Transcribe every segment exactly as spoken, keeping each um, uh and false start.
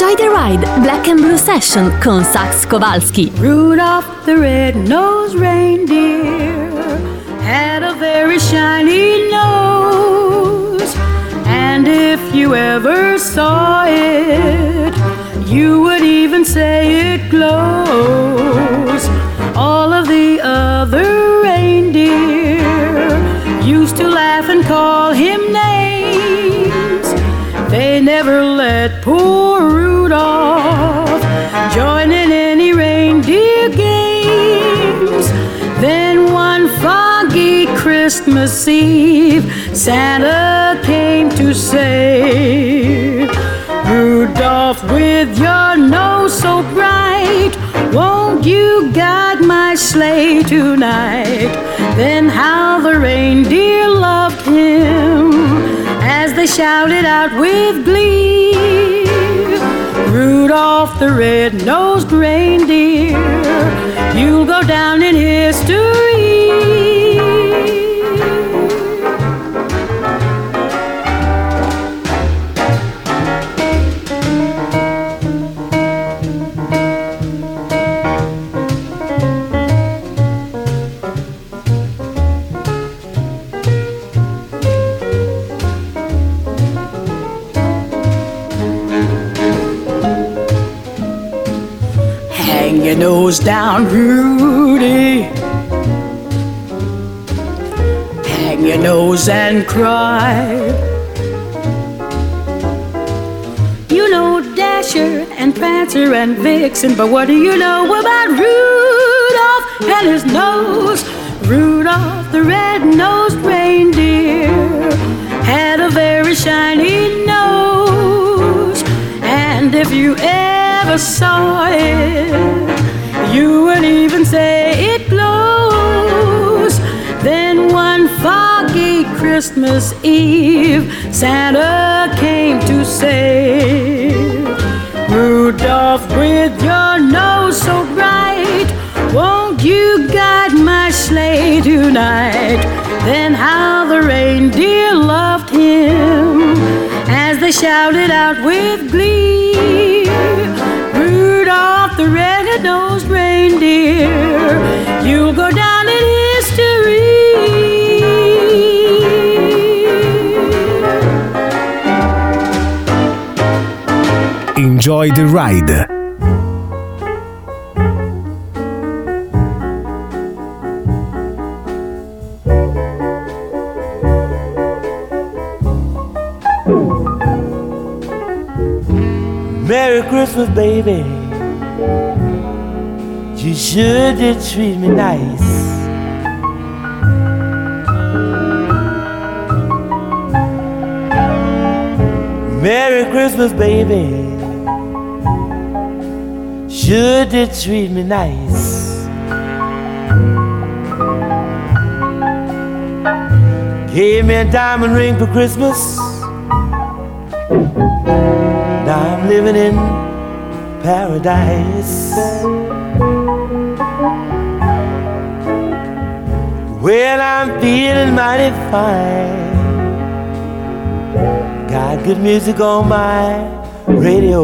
Enjoy the Ride, Black and Blue Session con Sax Kowalski. Rudolph the red-nosed reindeer had a very shiny nose, and if you ever saw it, you would even say it glows. All of the other reindeer used to laugh and call him names. They never let poor Rudolph join in any reindeer games. Then one foggy Christmas Eve, Santa came to say, Rudolph, with your nose so bright, won't you guide my sleigh tonight? Then how the reindeer loved him as they shouted out with glee, Rudolph the red-nosed reindeer, you'll go down in history. Hang your nose down, Rudy. Hang your nose and cry. You know Dasher and Prancer and Vixen, but what do you know about Rudolph and his nose? Rudolph the red-nosed reindeer had a very shiny nose, and if you ever saw it, you would even say it glows. Then one foggy Christmas Eve, Santa came to say, Rudolph, with your nose so bright, won't you guide my sleigh tonight? Then how the reindeer loved him as they shouted out with glee, Rudolph the red-nosed reindeer, you'll go down in history. Enjoy the Ride. Merry Christmas, baby. You sure did treat me nice. Merry Christmas, baby. Sure did treat me nice. Gave me a diamond ring for Christmas. Now I'm living in paradise. Well, I'm feeling mighty fine. Got good music on my radio.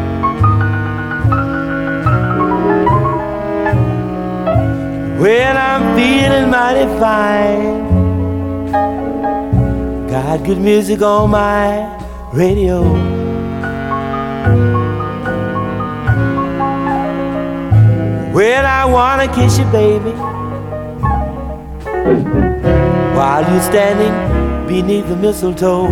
Well, I'm feeling mighty fine. Got good music on my radio. Well, I wanna kiss you, baby, while you're standing beneath the mistletoe.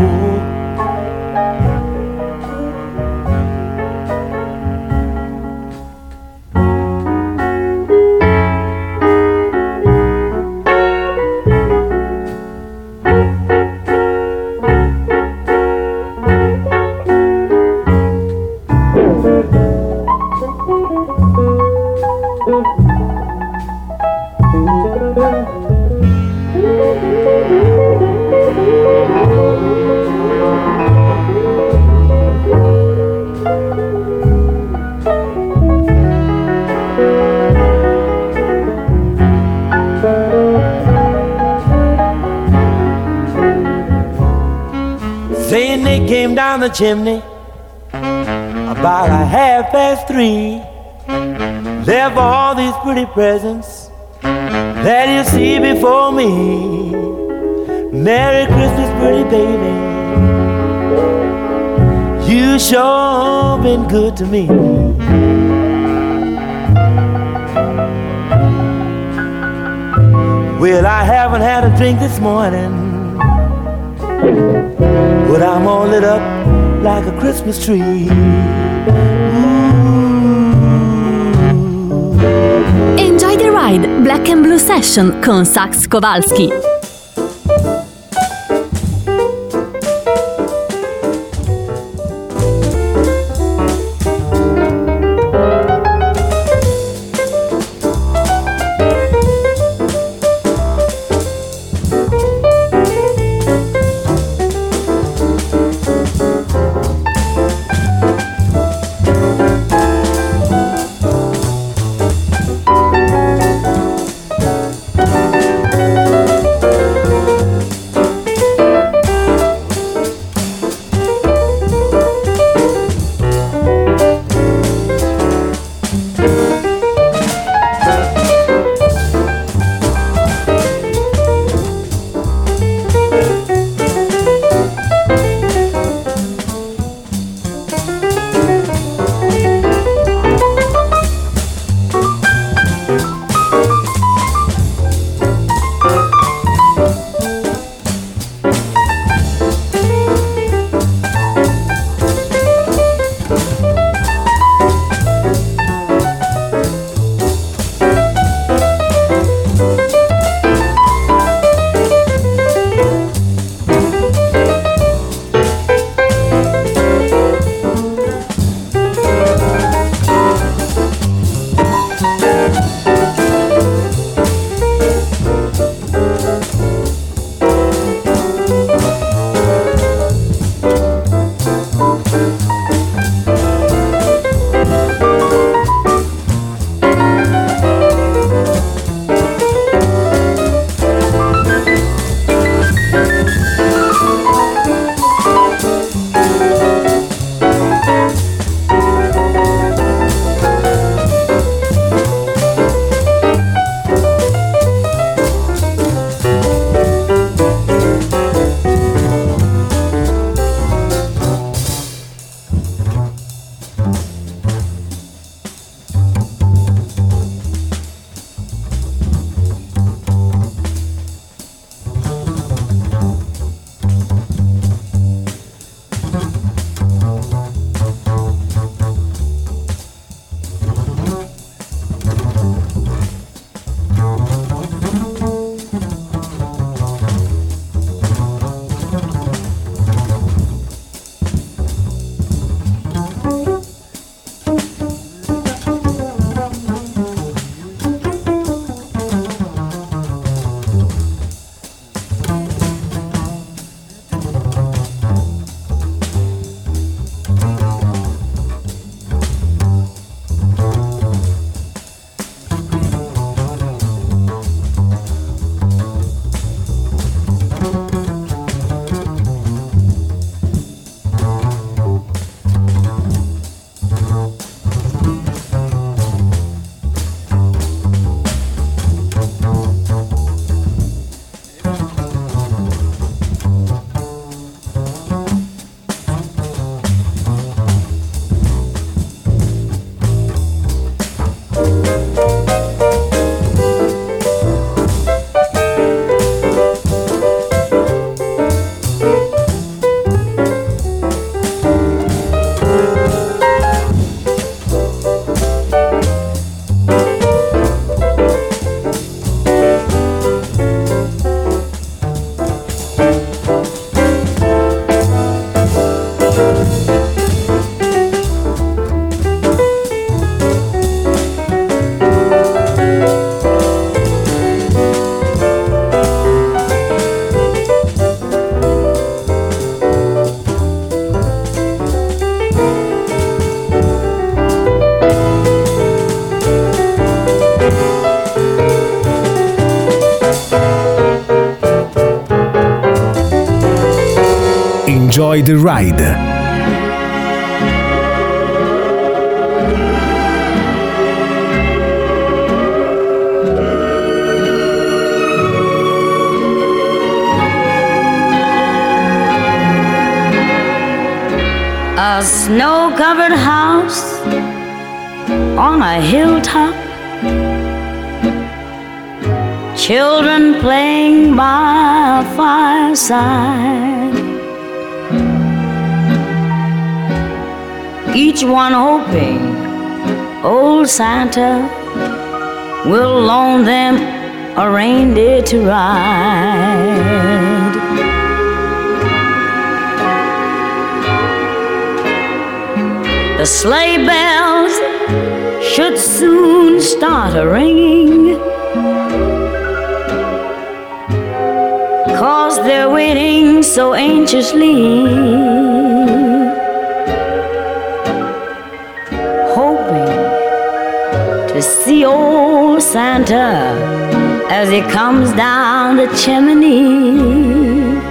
Saint Nick came down the chimney about a half past three. There for all these pretty presents that you see before me. Merry Christmas, pretty baby. You sure been good to me. Well, I haven't had a drink this morning, but I'm all lit up like a Christmas tree. Enjoy the Ride, Black and Blue Session con Sax Kowalski. Enjoy the Ride. A snow-covered house on a hilltop, children playing by a fireside, each one hoping old Santa will loan them a reindeer to ride. The sleigh bells should soon start a-ringing, 'cause they're waiting so anxiously, hoping to see old Santa as he comes down the chimney.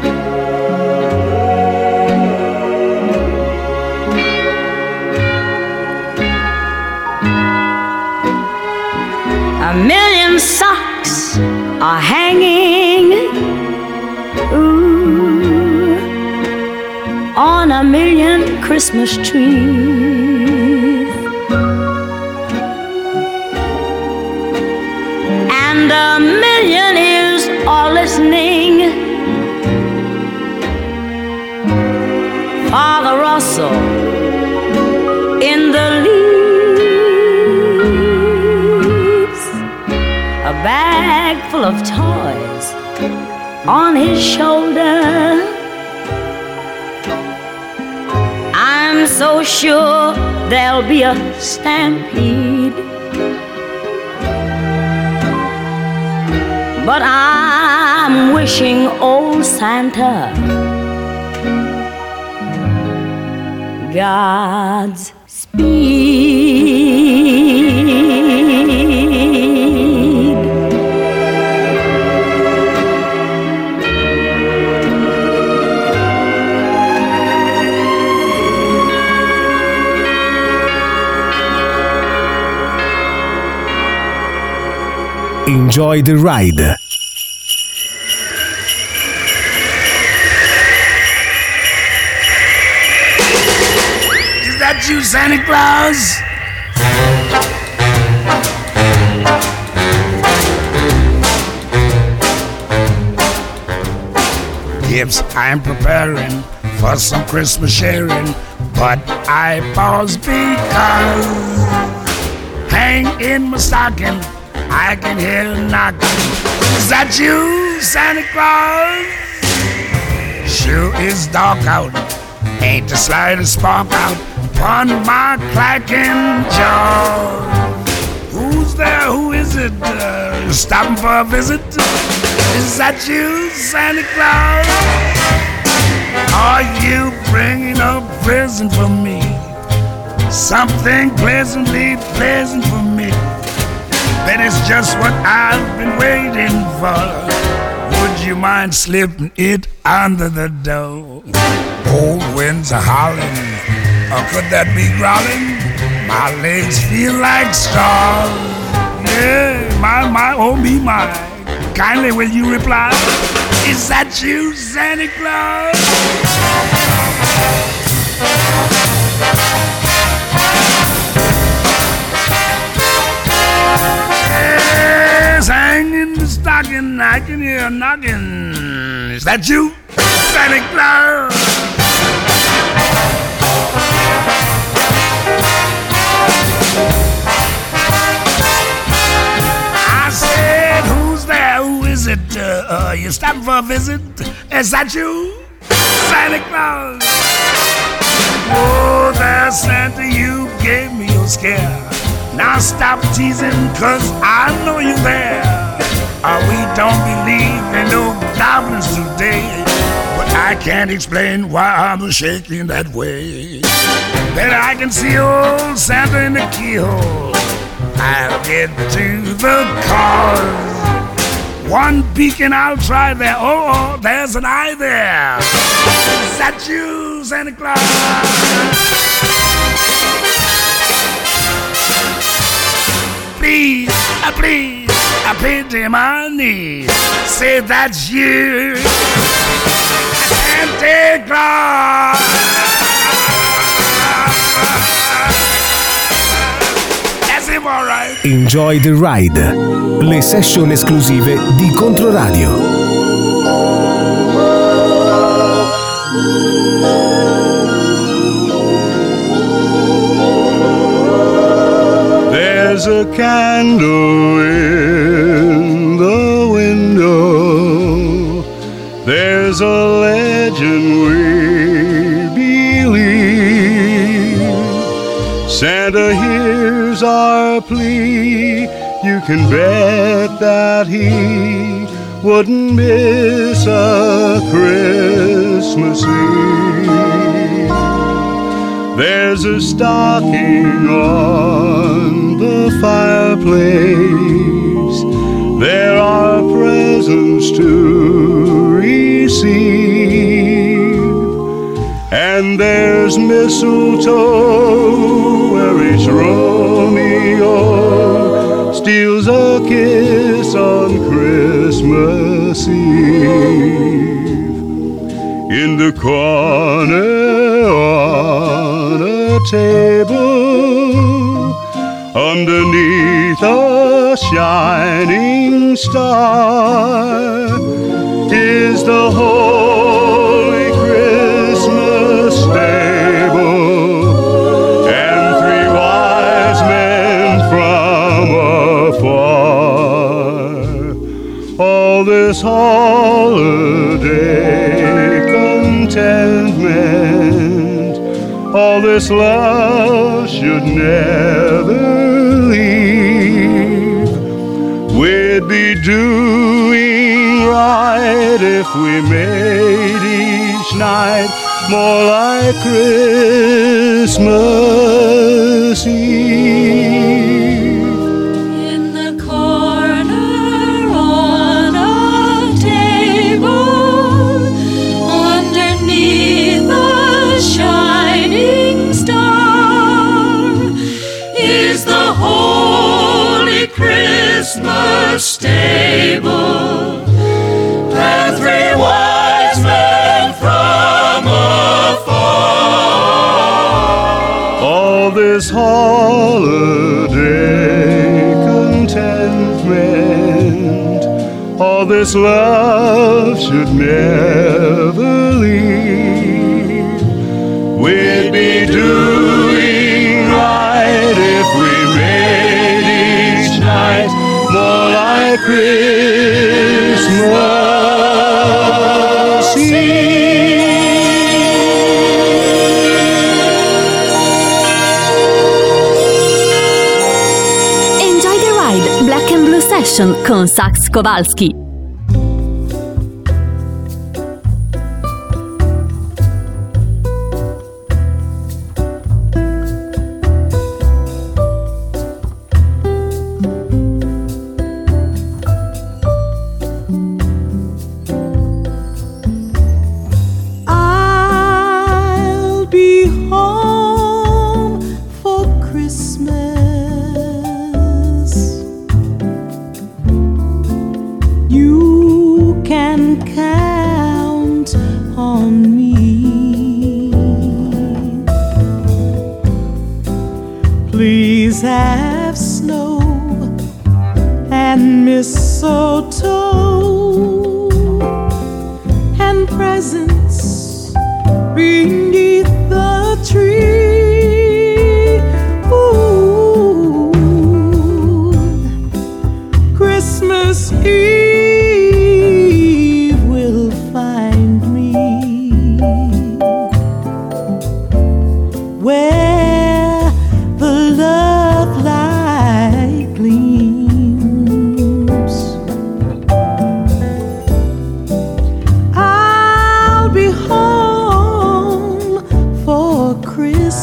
A million socks are hanging, ooh, on a million Christmas trees, and a million ears are listening for the rustle in the leaves. A bag full of toys on his shoulder, I'm so sure there'll be a stampede, but I'm wishing old Santa God's speed. Enjoy the ride. Is that you, Santa Claus? Gifts I'm preparing for some Christmas sharing, but I pause because hang in my stocking, I can hear a knocking. Is that you, Santa Claus? Sure is dark out, ain't the slightest spark out upon my clacking jaw. Who's there? Who is it? Uh, stopping for a visit? Is that you, Santa Claus? Are you bringing a present for me? Something pleasantly pleasant for me. That is just what I've been waiting for. Would you mind slipping it under the door? Cold winds are howling, or could that be growling? My legs feel like straws. Yeah, my, my, oh me, my. Kindly will you reply? Is that you, Santa Claus? Hang in the stocking, I can hear a knocking. Is that you, Santa Claus? I said, who's there? Who is it? Uh, uh, you stopping for a visit? Is that you, Santa Claus? Oh, there, Santa, you gave me a scare. Now stop teasing, 'cause I know you're there. Uh, we don't believe in no goblins today, but I can't explain why I'm shaking that way. Then I can see old Santa in the keyhole. I'll get to the cause. One peek and I'll try there. Oh, oh, there's an eye there. Is that you, Santa Claus? Please, uh, please, I pity my knees. Say that's you, Santa Claus. Enjoy the Ride, le session esclusive di Controradio. There's a candle in the window, there's a legend we believe. Santa hears our plea, you can bet that he wouldn't miss a Christmas Eve. There's a stocking on the fireplace, there are presents to receive, and there's mistletoe where each Romeo steals a kiss on Christmas Eve. In the corner on a table, underneath a shining star, is the holy Christmas stable, and three wise men from afar. All this holiday contentment, all this love should never leave. We'd be doing right if we made each night more like Christmas Eve. In the corner on a table, underneath a shining star, is the holy Christmas stable, and three wise men from afar. All this holiday contentment, all this love should never leave. We'd be doing right if we made each night more like Christmas Eve. Enjoy the Ride, Black and Blue Session con Sax Kowalski. I'll be home for Christmas. You can count on me. Please have snow and mistletoe and presents beneath the tree. Ooh, Christmas Eve will find me where the love light gleams. I'll be home for Christmas.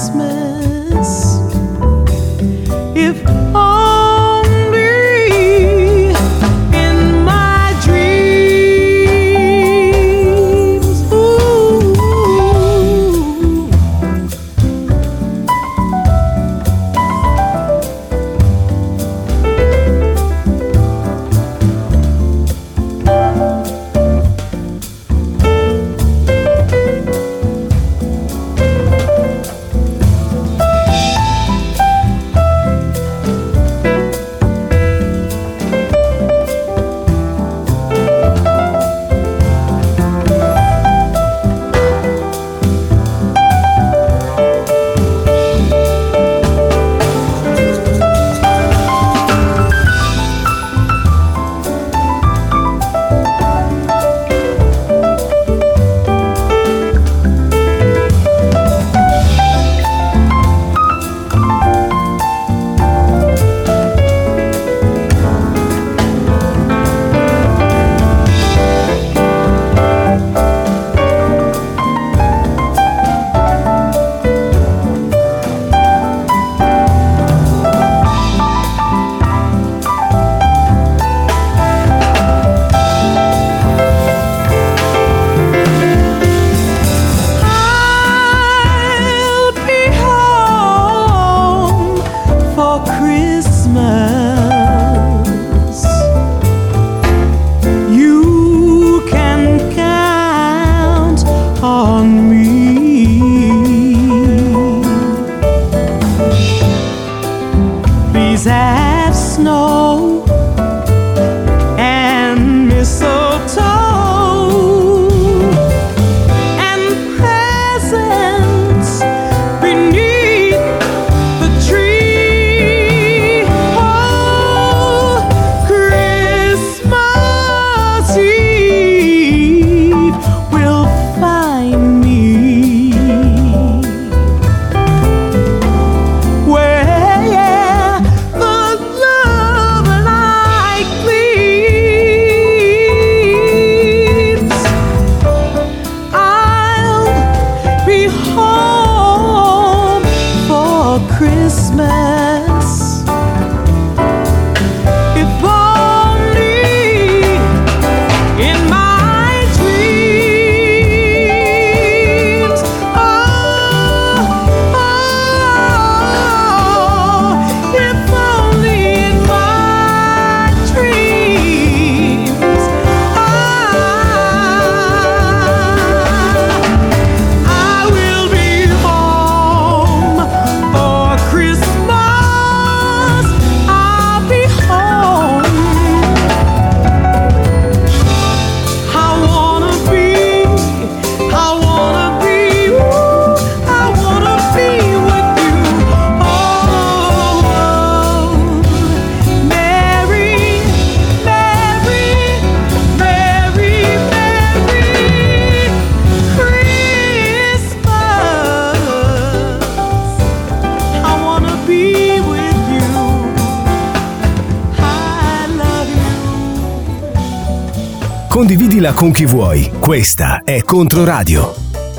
condividila con chi vuoi. Questa è Controradio.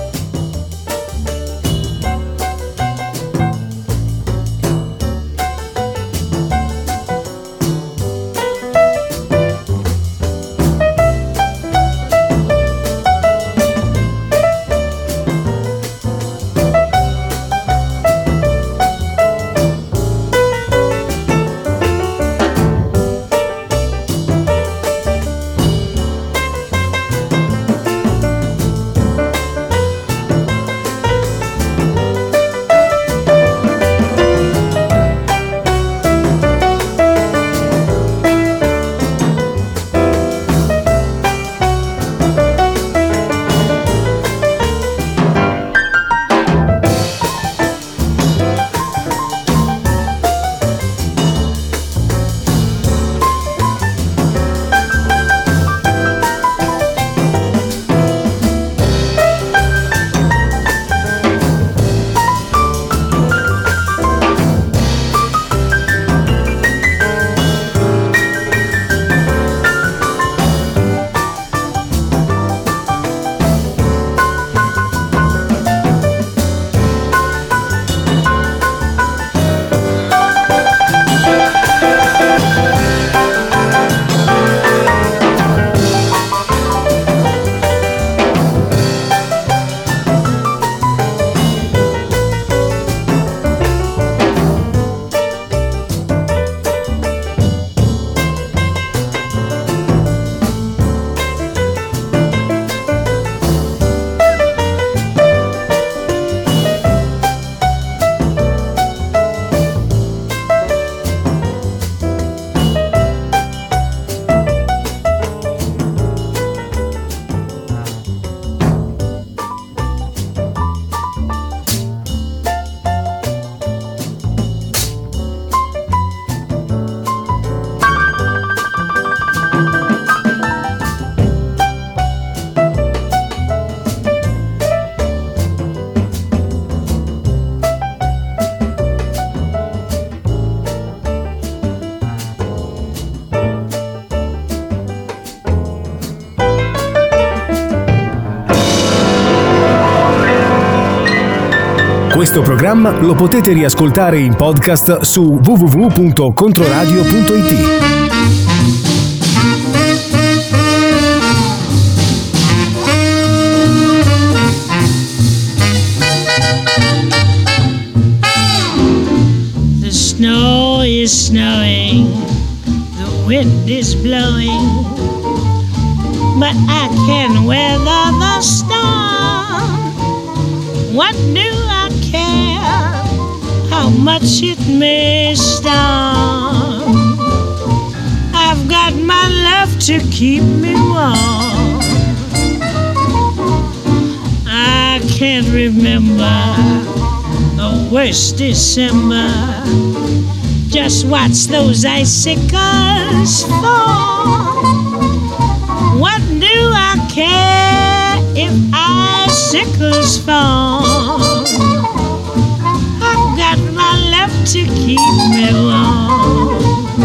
Questo programma lo potete riascoltare in podcast su w w w punto controradio punto i t. The snow is snowing, the wind is blowing, but I can weather the storm. What do I care how much it may storm? I've got my love to keep me warm. I can't remember the worst December. Just watch those icicles fall. What do I care if icicles fall? I've got my love to keep me warm.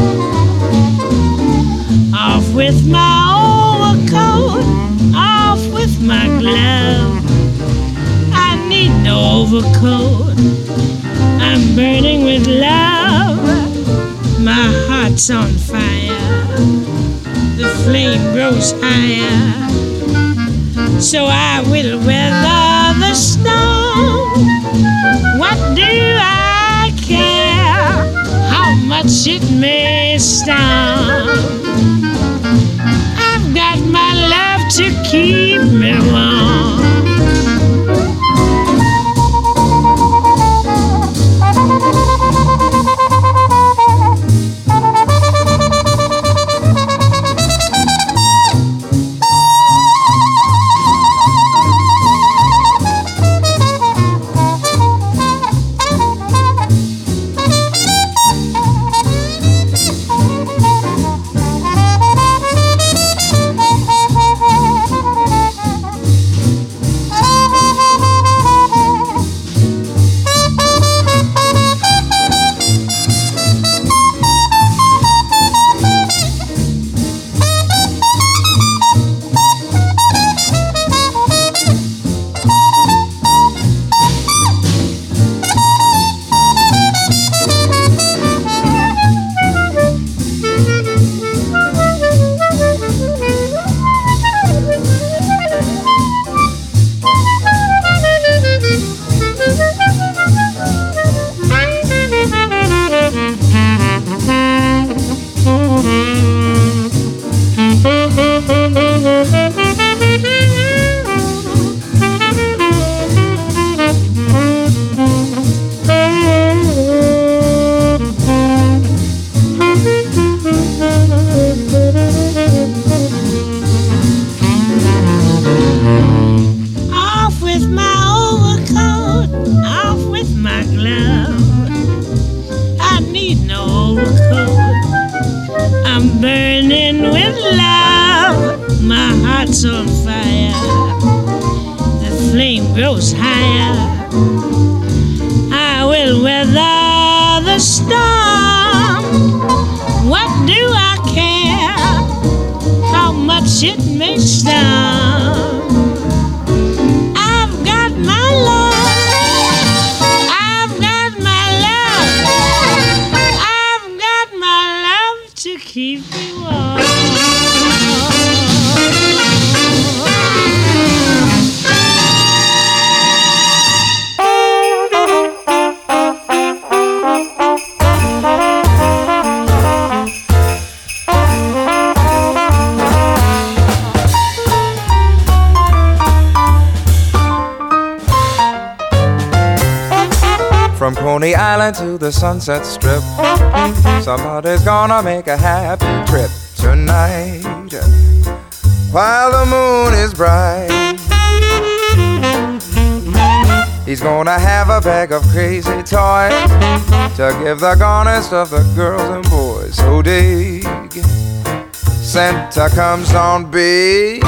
Off with my overcoat, off with my glove. I need no overcoat, I'm burning with love. My heart's on fire, the flame grows higher, so I will weather the storm. What do I care how much it may storm? I've got my love to keep me warm. flame grows higher, I will weather the storm. What do I care how much it may storm? I've got my love, I've got my love, I've got my love to keep me warm. From Coney Island to the Sunset Strip, somebody's gonna make a happy trip tonight while the moon is bright. He's gonna have a bag of crazy toys to give the garnest of the girls and boys. So dig, Santa comes on big.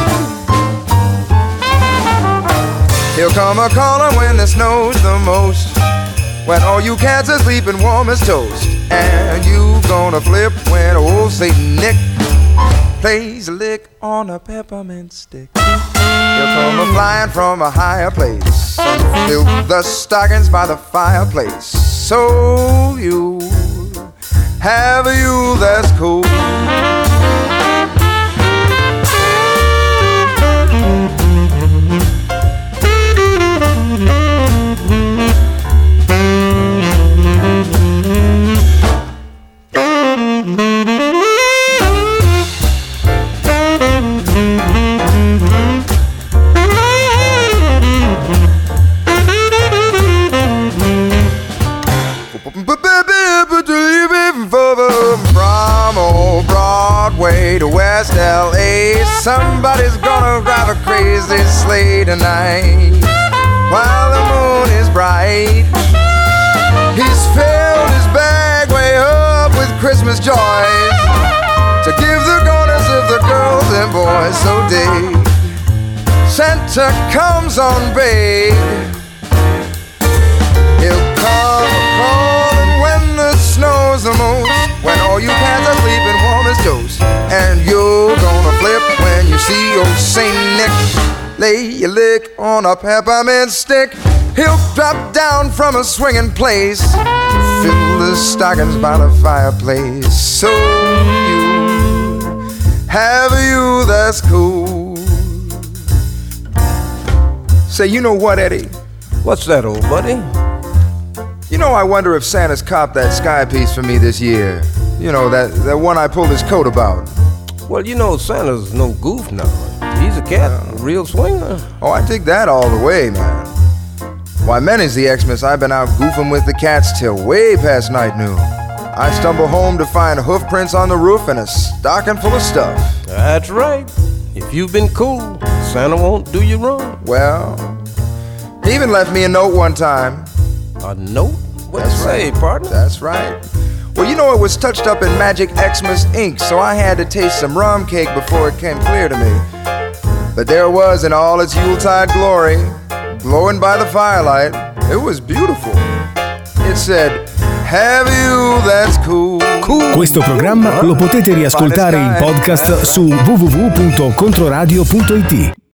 He'll come a-callin' when it snows the most, when all you cats are sleeping warm as toast. And you gonna flip when old Saint Nick plays a lick on a peppermint stick. He'll come a-flying from a higher place and fill the stockings by the fireplace. So you have a Yule that's cool. From old Broadway to West L A, somebody's gonna drive a crazy sleigh tonight while the moon is bright. He's filled his bag way up with Christmas joys to give the garners of the girls and boys. So dig, Santa comes on big. He'll come a-callin' when the snow's the most, when all you cats are sleeping warm as toast. And you're gonna flip when you see old Saint Nick lay your lick on a peppermint stick. He'll drop down from a swinging place, fill the stockings by the fireplace. So you have a you that's cool. Say, you know what, Eddie? What's that, old buddy? You know, I wonder if Santa's copped that sky piece for me this year. You know, that, that one I pulled his coat about. Well, you know, Santa's no goof now. He's a cat, a real swinger. Oh, I dig that all the way, man. Why, many's the Xmas I've been out goofing with the cats till way past night noon. I stumble home to find hoof prints on the roof and a stocking full of stuff. That's right. If you've been cool, Santa won't do you wrong. Well, he even left me a note one time. A note? What'd you say, partner? That's right. Well, you know, it was touched up in Magic Xmas ink, so I had to taste some rum cake before it came clear to me. But there it was in all its Yuletide glory, glowing by the firelight. It was beautiful. It said, have you that's cool. Cool. Questo programma lo potete riascoltare in podcast su w w w punto controradio punto i t.